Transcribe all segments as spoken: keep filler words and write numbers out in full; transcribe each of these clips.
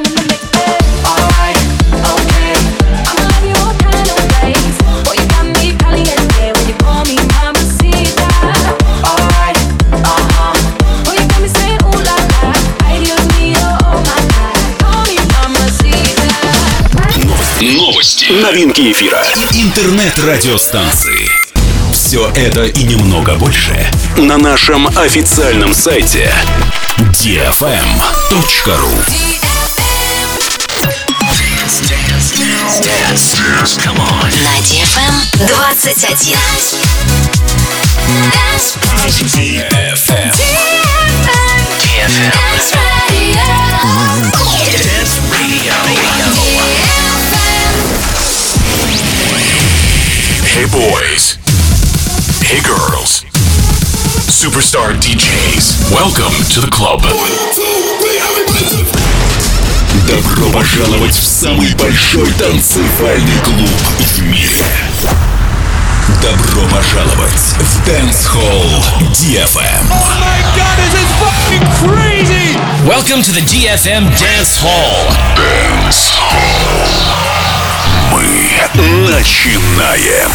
Новинки эфира. Интернет-радиостанции. Все это и немного больше на нашем официальном сайте ди эф эм точка ру. На ди эф эм двадцать один. ди эф эм. Hey boys, hey girls, superstar ди джейс, welcome to the club. Добро пожаловать в самый большой танцевальный клуб в мире. Добро пожаловать в Dance Hall ди эф эм. Oh my god, this is fucking crazy! Welcome to the ди эф эм Dance Hall. Dance Hall. Мы начинаем.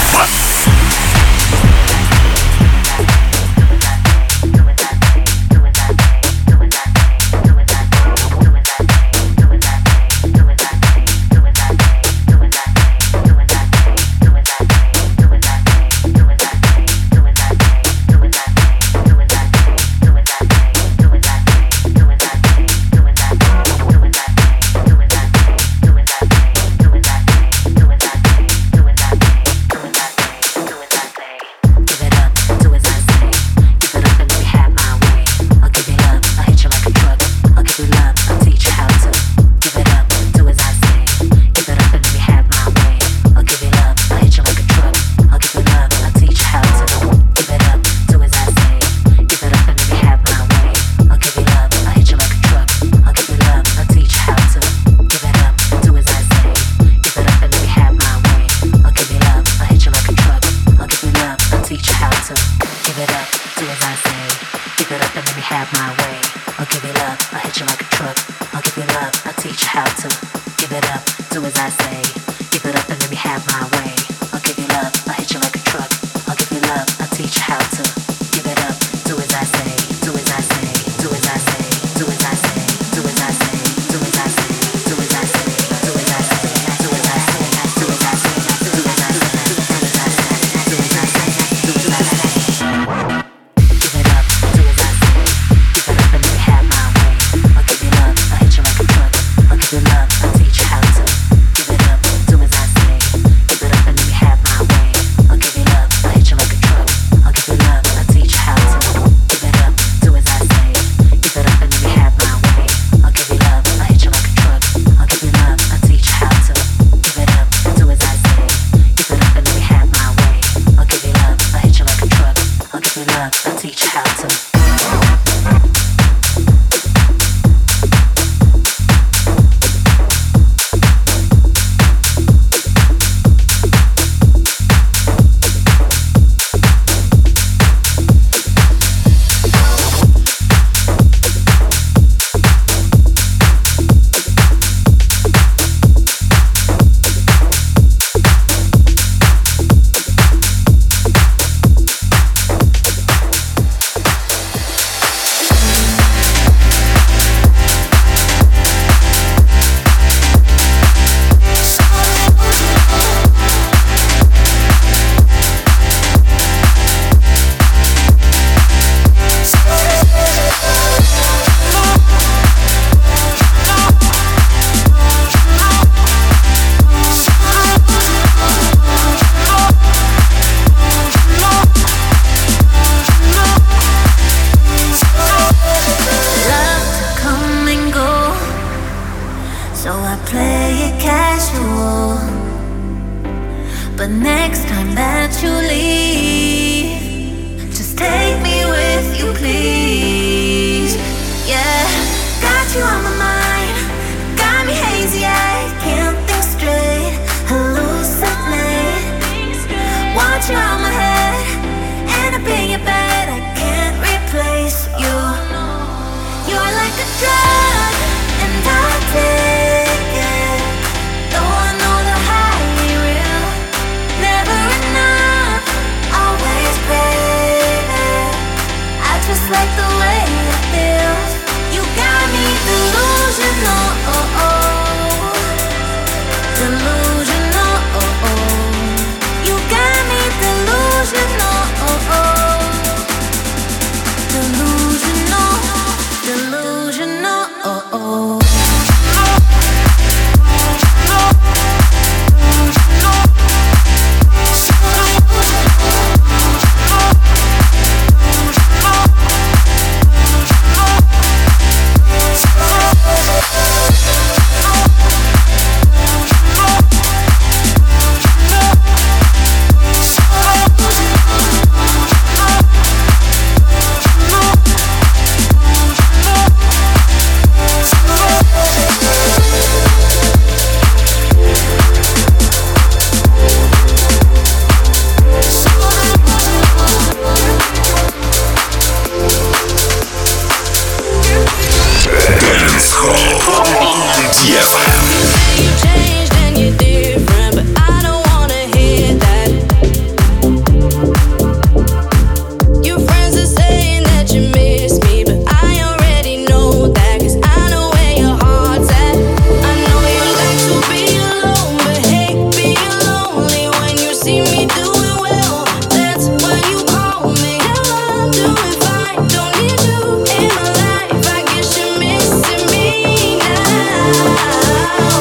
You're like a drug and I take эф эм. Don't need you in my life. I guess you're missing me now.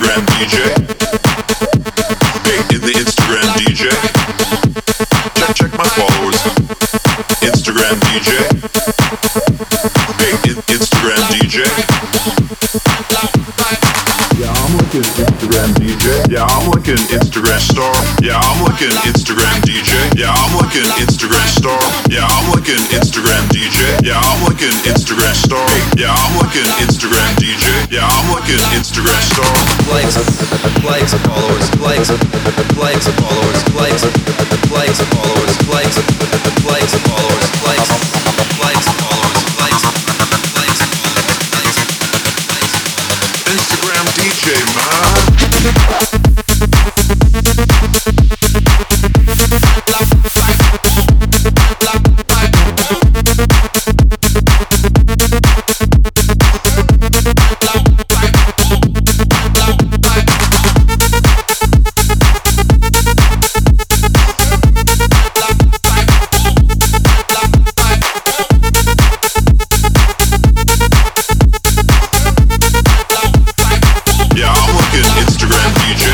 Instagram D J. Hey, in the Instagram D J. Check, check my followers. Instagram D J. Hey, in Instagram D J. Yeah, I'm like an Instagram D J. Yeah, I'm like an Instagram star. Yeah, I'm like an Instagram D J. Yeah, I'm like an Instagram star. Yeah, I'm like an Instagram D J. Yeah, I'm like an Instagram star. Yeah, I'm like an Instagram D J. Yeah, I'm like an Instagram star. Likes, likes, followers, likes, likes, followers, likes, likes, followers, likes, likes, followers, likes, likes, followers, likes, likes, likes, Instagram D J, man. Yeah, I'm like an Instagram D J.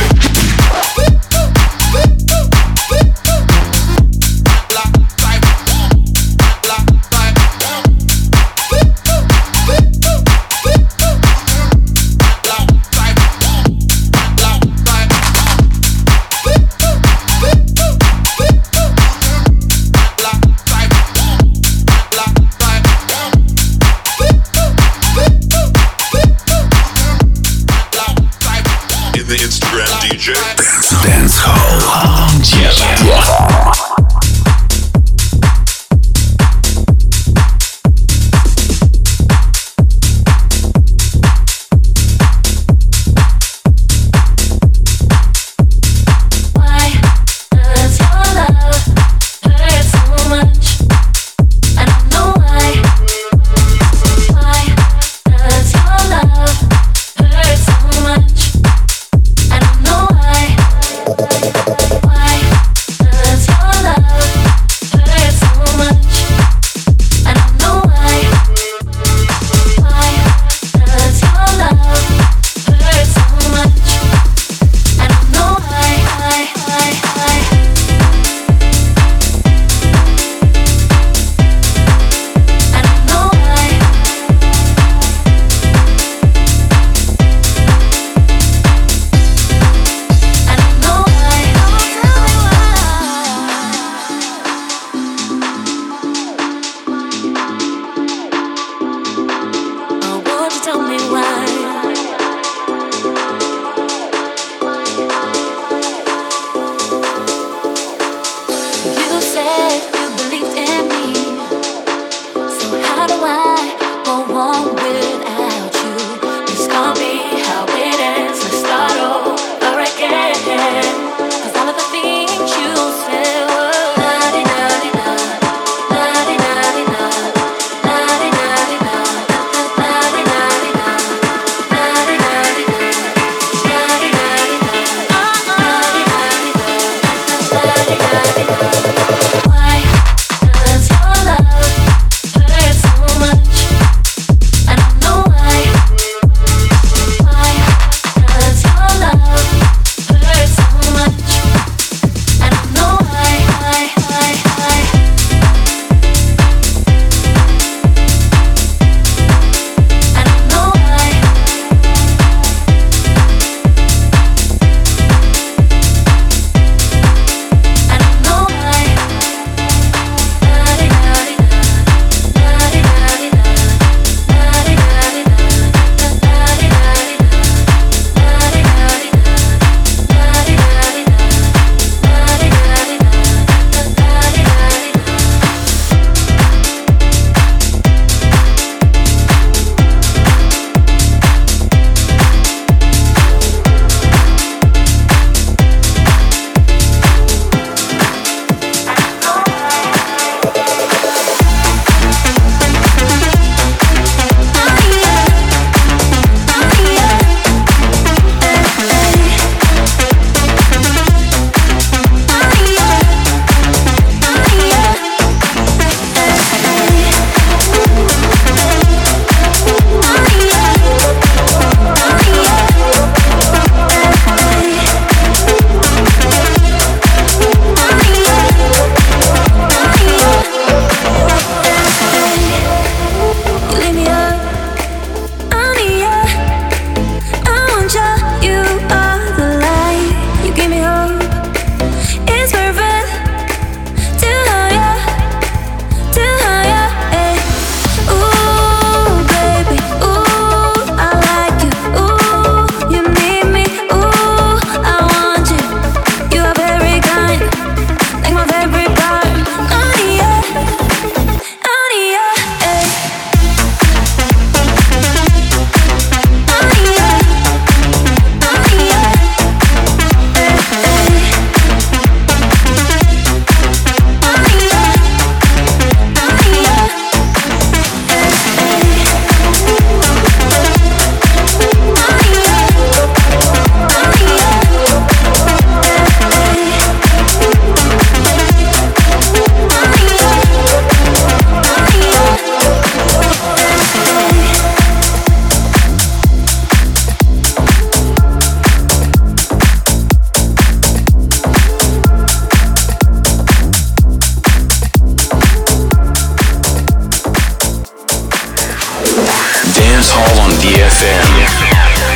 Dance Hall on D F M.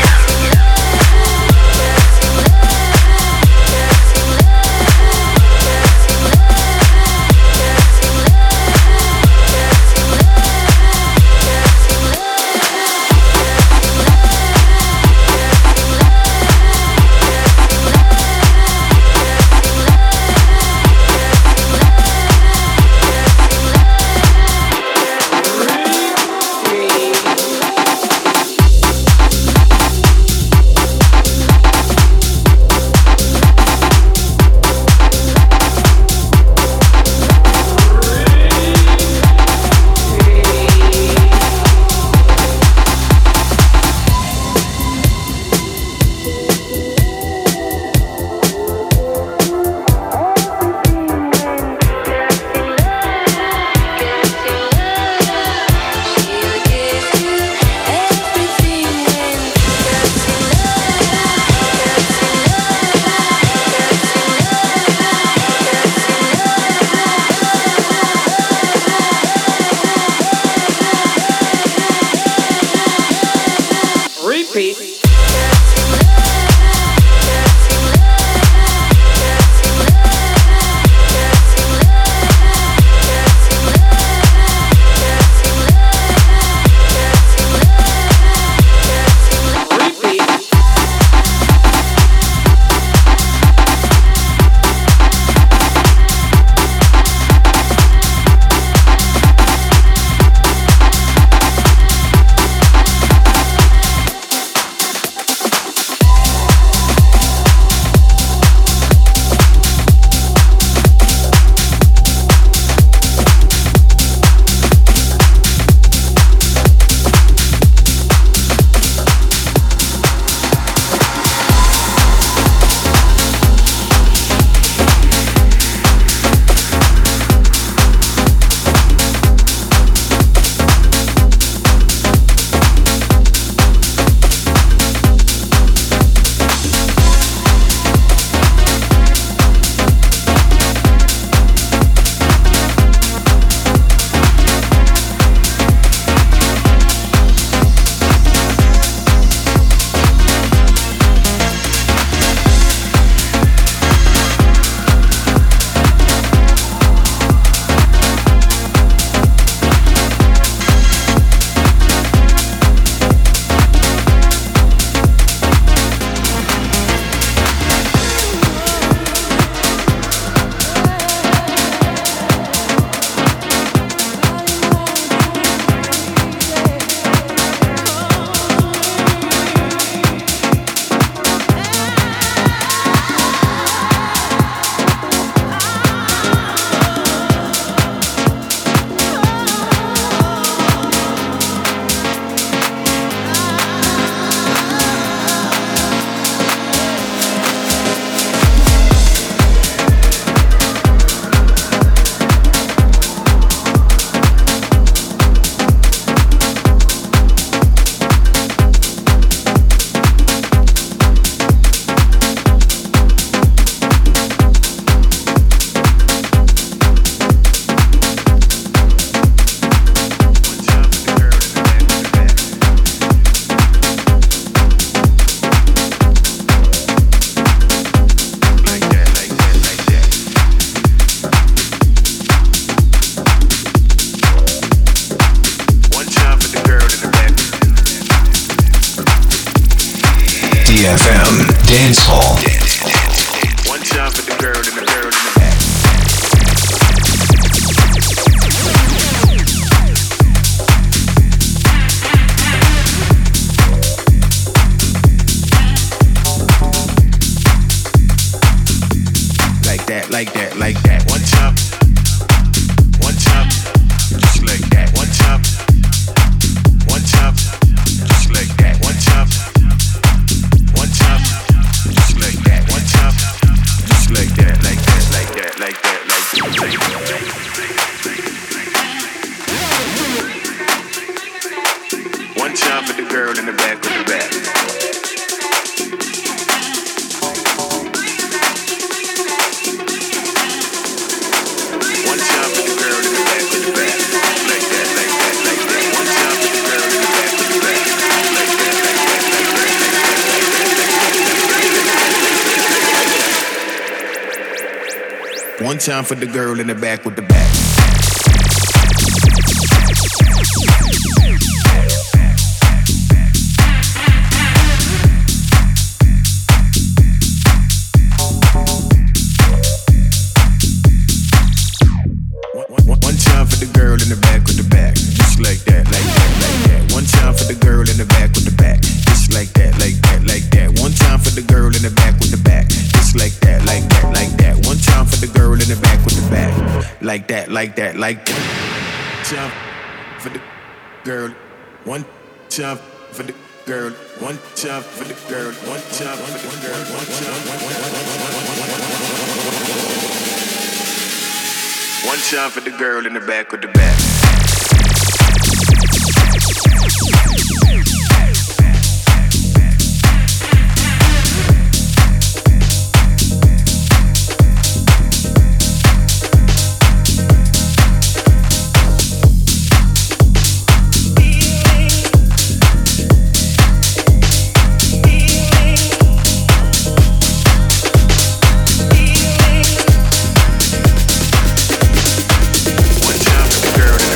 D F M Dance Hall. One time for the girl and the girl in the back. Like that, like that, like that. One time, one time, just like that. One time, one time, just like that. One time. One time, just like that. One time, just like that, like that, like that, like that, like that. One time for the girl in the back of the back. One time for the girl in the back of the back. Like that, like that, like that. One time for the girl in the back of the back. One time for the girl in the back with the back. One time for the girl in the back with the back, just like that, like that, like that. One time for the girl in the back with the back, just like that, like that, like that. One time for the girl in the back with the back, just like that, like that, like that. One time for the girl in the back with the back, like that, like that, like that. Time for the girl, one time for the girl, one time for the girl, one time for the girl, one time. One time for the girl in the back with the back. Girl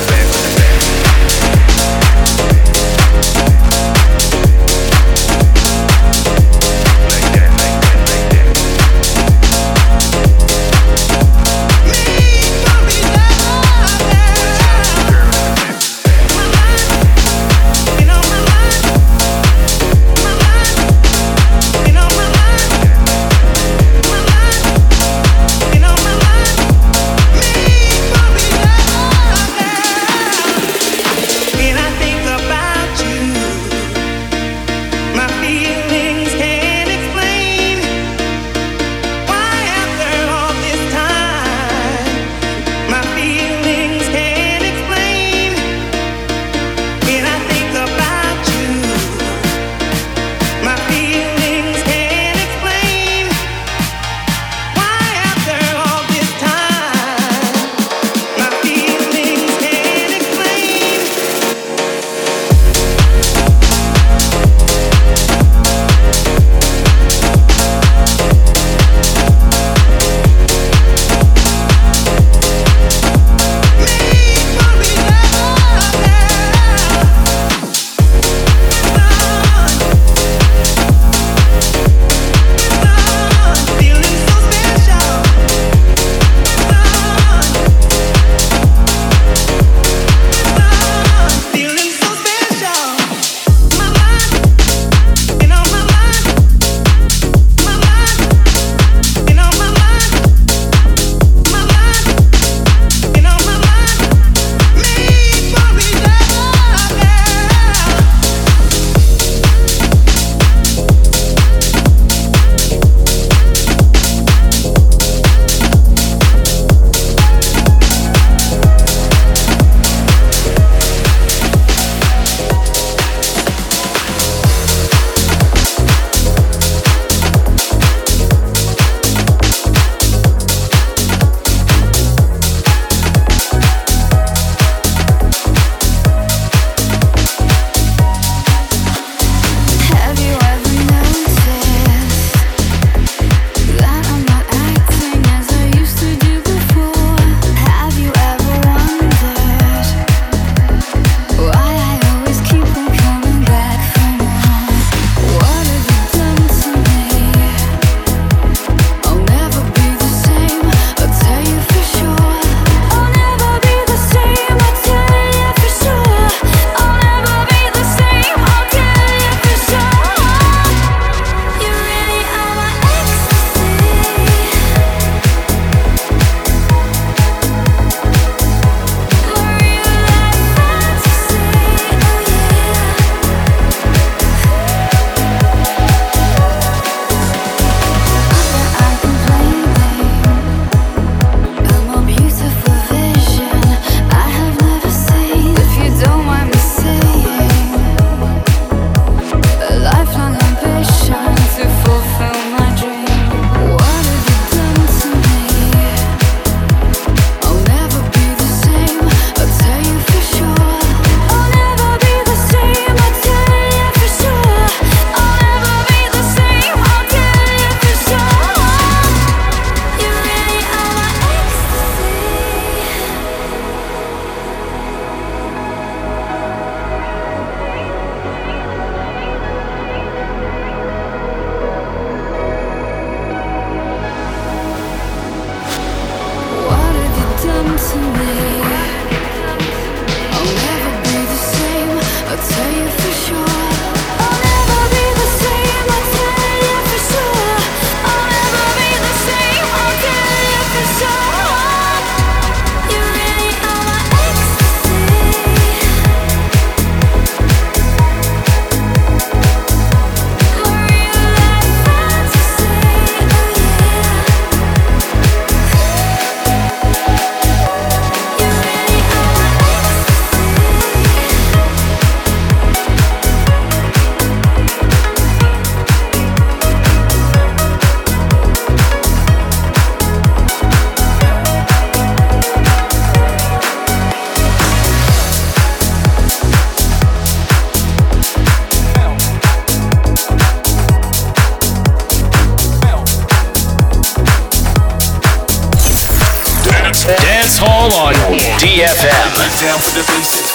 Dance Hall on D F M. Down for the basics.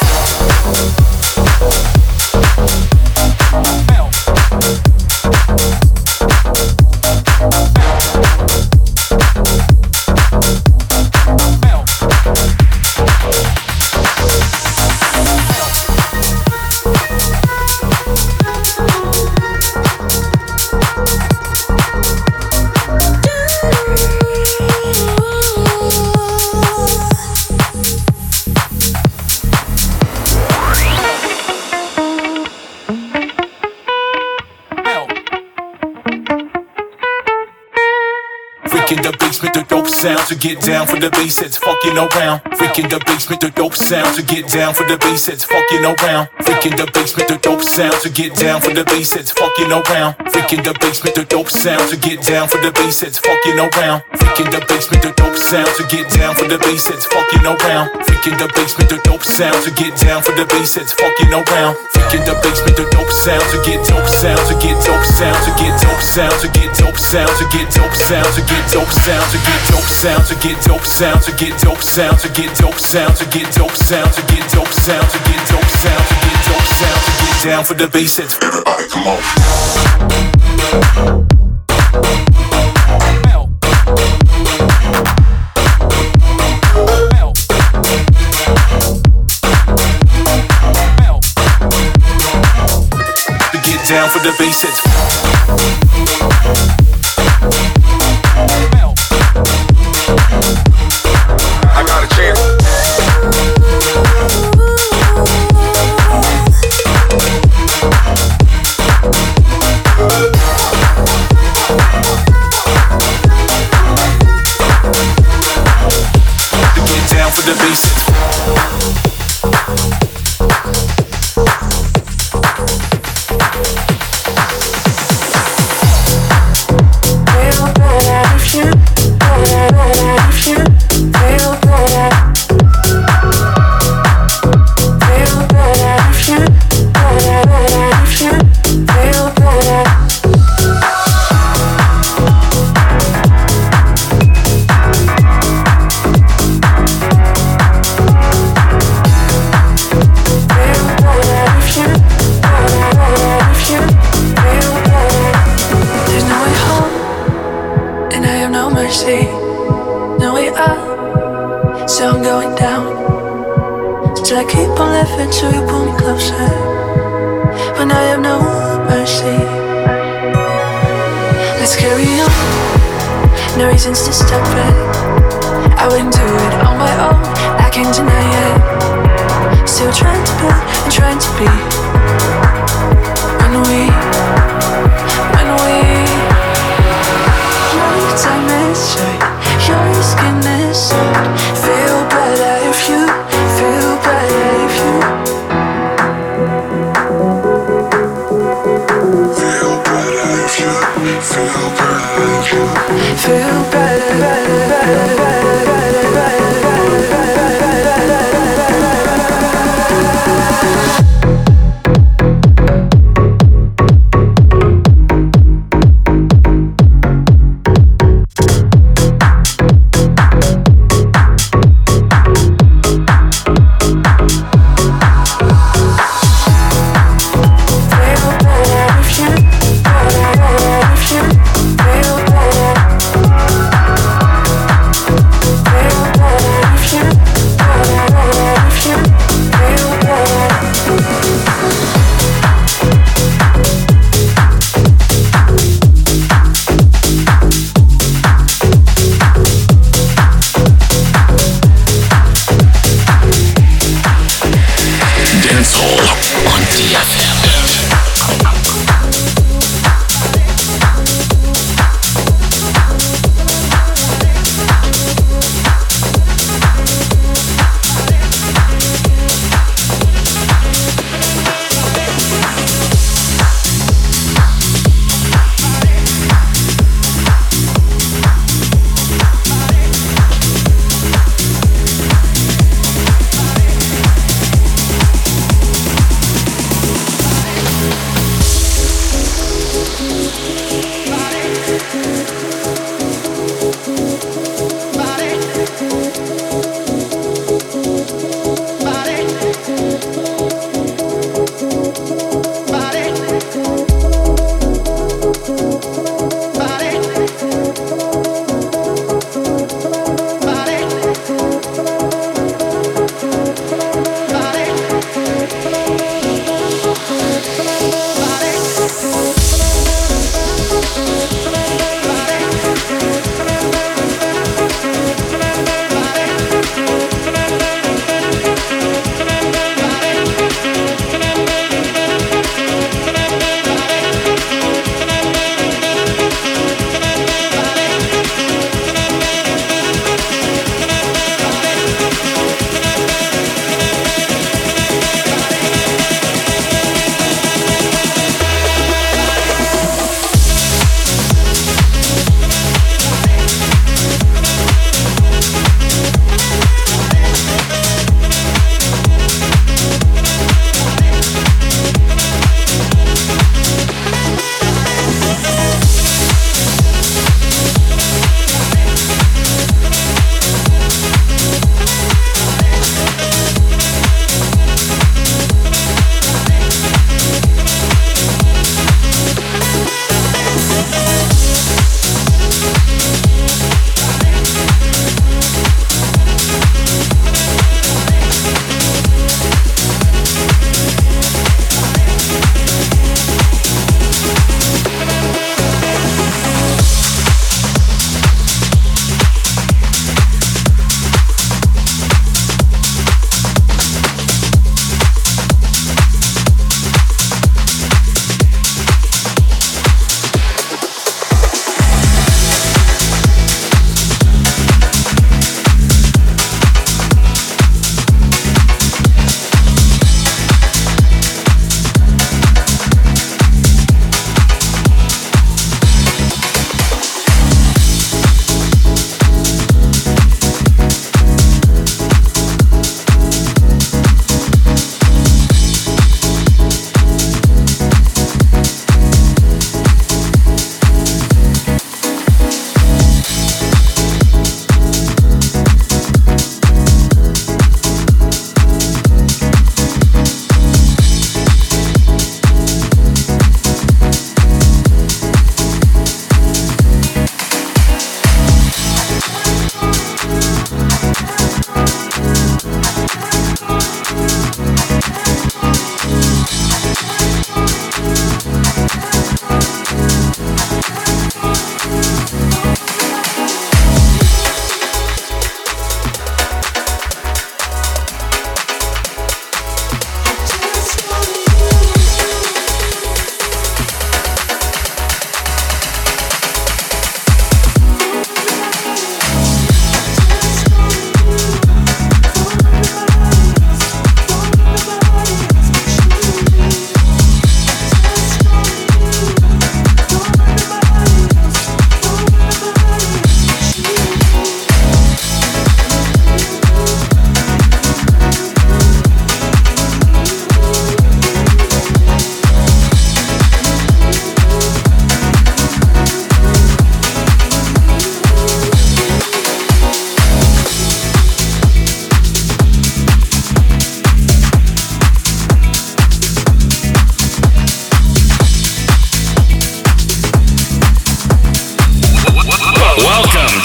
Sound to get down for the bass, it's fucking around. Freaking the basement, the dope sound to get down for the bass, it's fucking around. Freaking the basement, the dope sound to get down for the bass, it's fucking around. Freaking the basement, the dope sound to get down for the bass, it's fucking around. Freaking the basement, the dope sound to get down for the bass, it's fucking around. Freaking the basement, the dope sound to get down for the bass, it's fucking around. Freaking the basement, the dope sound to get dope sound to get dope sound to get dope sound to get dope sound to get dope sound to get dope sound to get dope sound to get dope sound to get dope sound to get dope sound to get dope sound to get dope sound to get dope sound to get dope sound to get down for the bass. It's everybody come on. To get down for the bass. It's I got a chance. to get down for the basics. To stop it, I wouldn't do it on my own. I can't deny it. Still trying to be and trying to be. When we, when we, your time is short, your skin is soft. Feel better if you, feel better if you. Feel better if you, feel better if you. Feel better, better, better, better, better, better, feel better.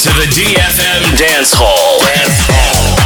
to the D F M Dance Hall. Dance Hall.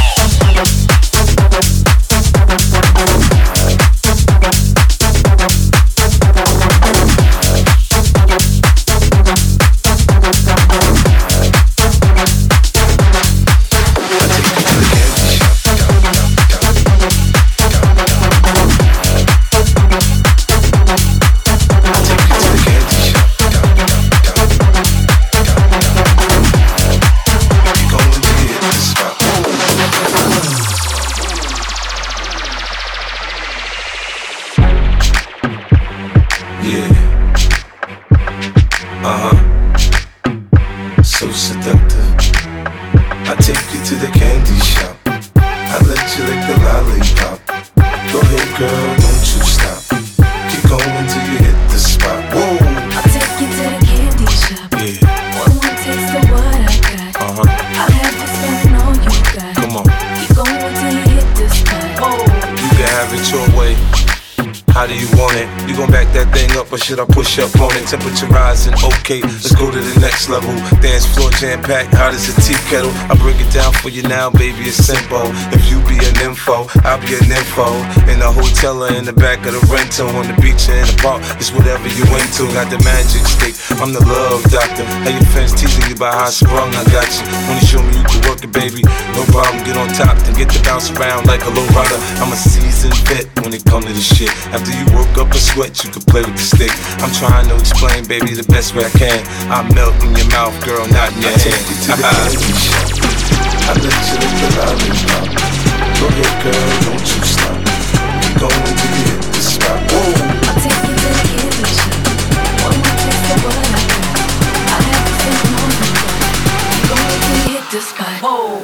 Should I push up on it? Temperature rising, okay, let's go to the next level. Dance floor jam-packed, hot as a tea kettle. I break it down for you now, baby, it's simple. If you be an info, I'll be an info. In the hotel or in the back of the rental, on the beach or in the park, it's whatever you into. Got the magic stick, I'm the love doctor. How your fans teasing you about how I sprung, I got you. When you show me you can work it, baby, no problem, get on top, then get to bounce around like a low rider. I'm a seasoned vet when it come to this shit. After you work up a sweat, you can play with the stick. I'm trying to explain, baby, the best way I can. I melt in your mouth, girl, not in your hand. I take you to the candy shop. I let you lick the lollipop. Go ahead, girl, don't you stop. Keep going till you hit the spot. Whoa. I'll take you to the candy shop. One more taste of what I got. I have to say no more. Keep going till you hit the spot. Whoa.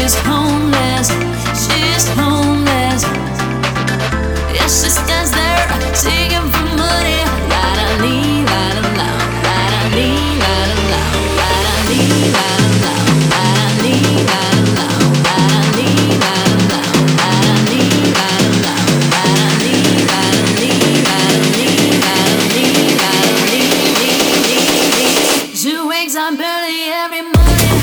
She's homeless, she's homeless. Yeah, she stands there seeking for money. La da lee, la da la, la da lee, la da la, la da lee, la da la, la da lee, la da la, la da lee, la da la, la da lee, la da la, la da lee, la da lee, la da lee, la da lee, la da lee. She wakes up early every morning.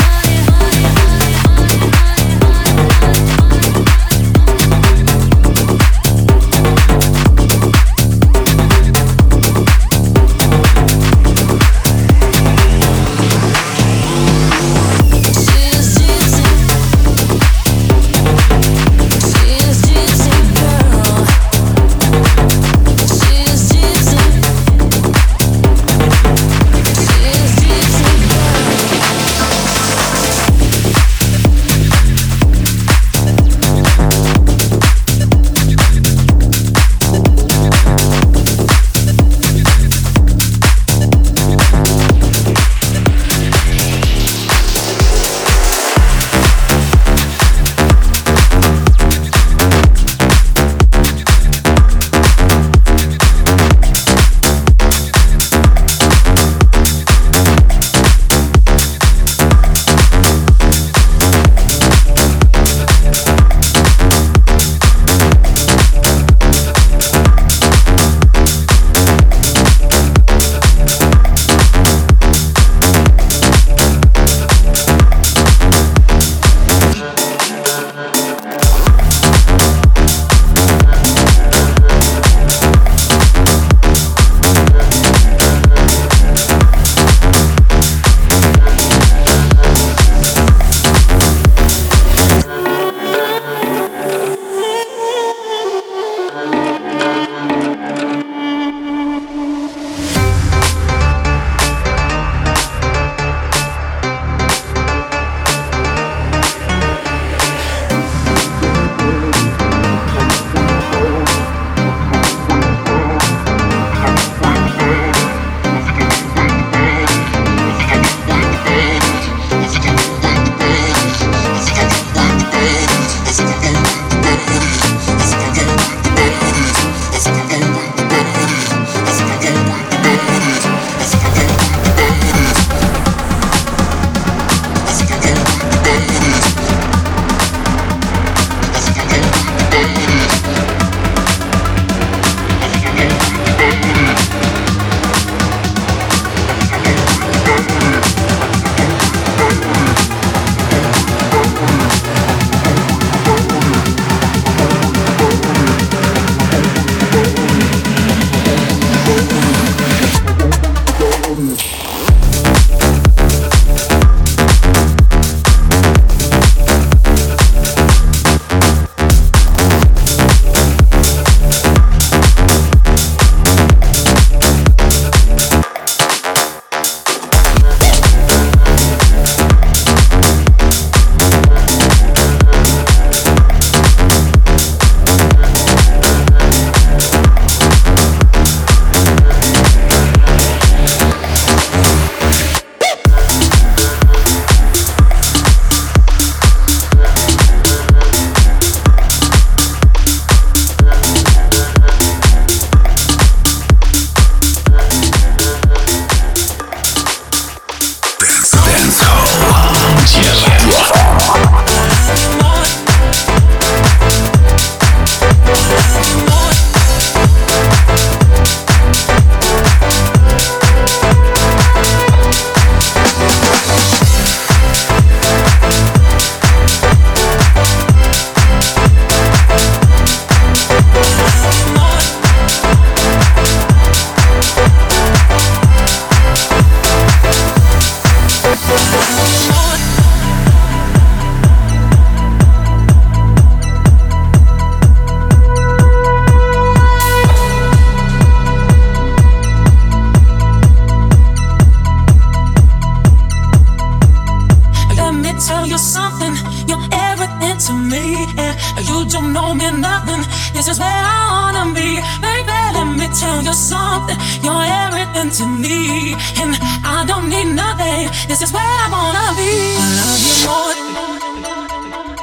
something. You're everything to me, and I don't need nothing. This is where I wanna be. I love you more.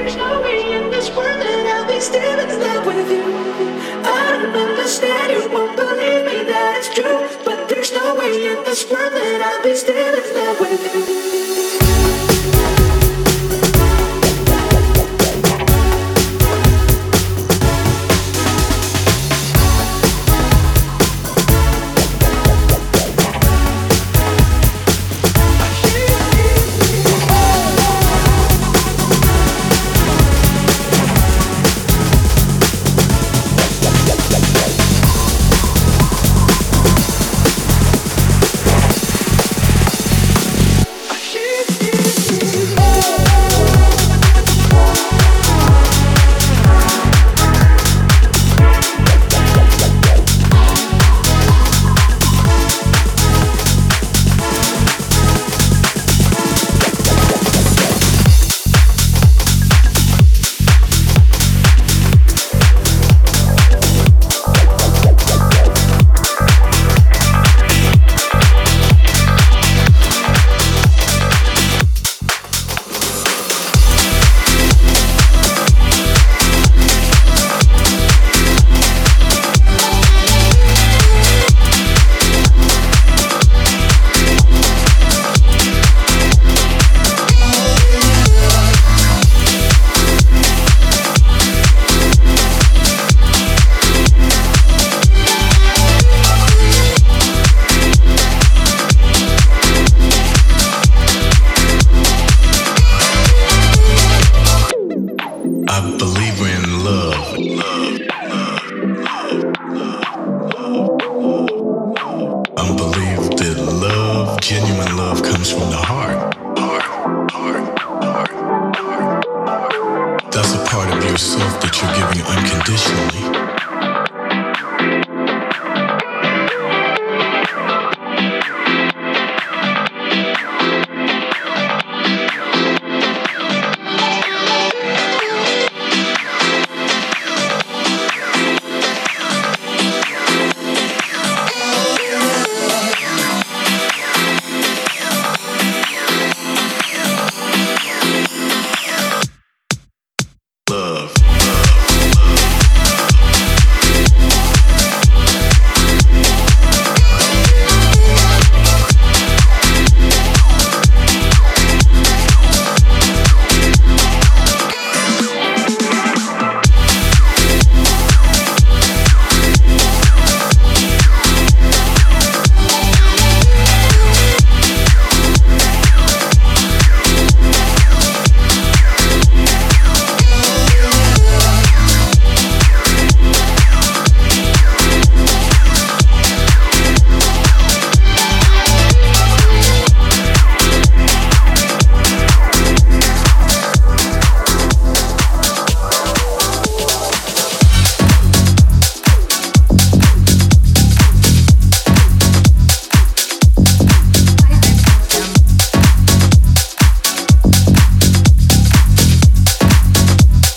there's no way in this world that I'll be still in love with you. I don't understand, you won't believe me that it's true, but there's no way in this world that I'll be still in love with you. Genuine love comes from the heart. Heart, heart, heart, heart. That's a part of yourself that you're giving unconditionally.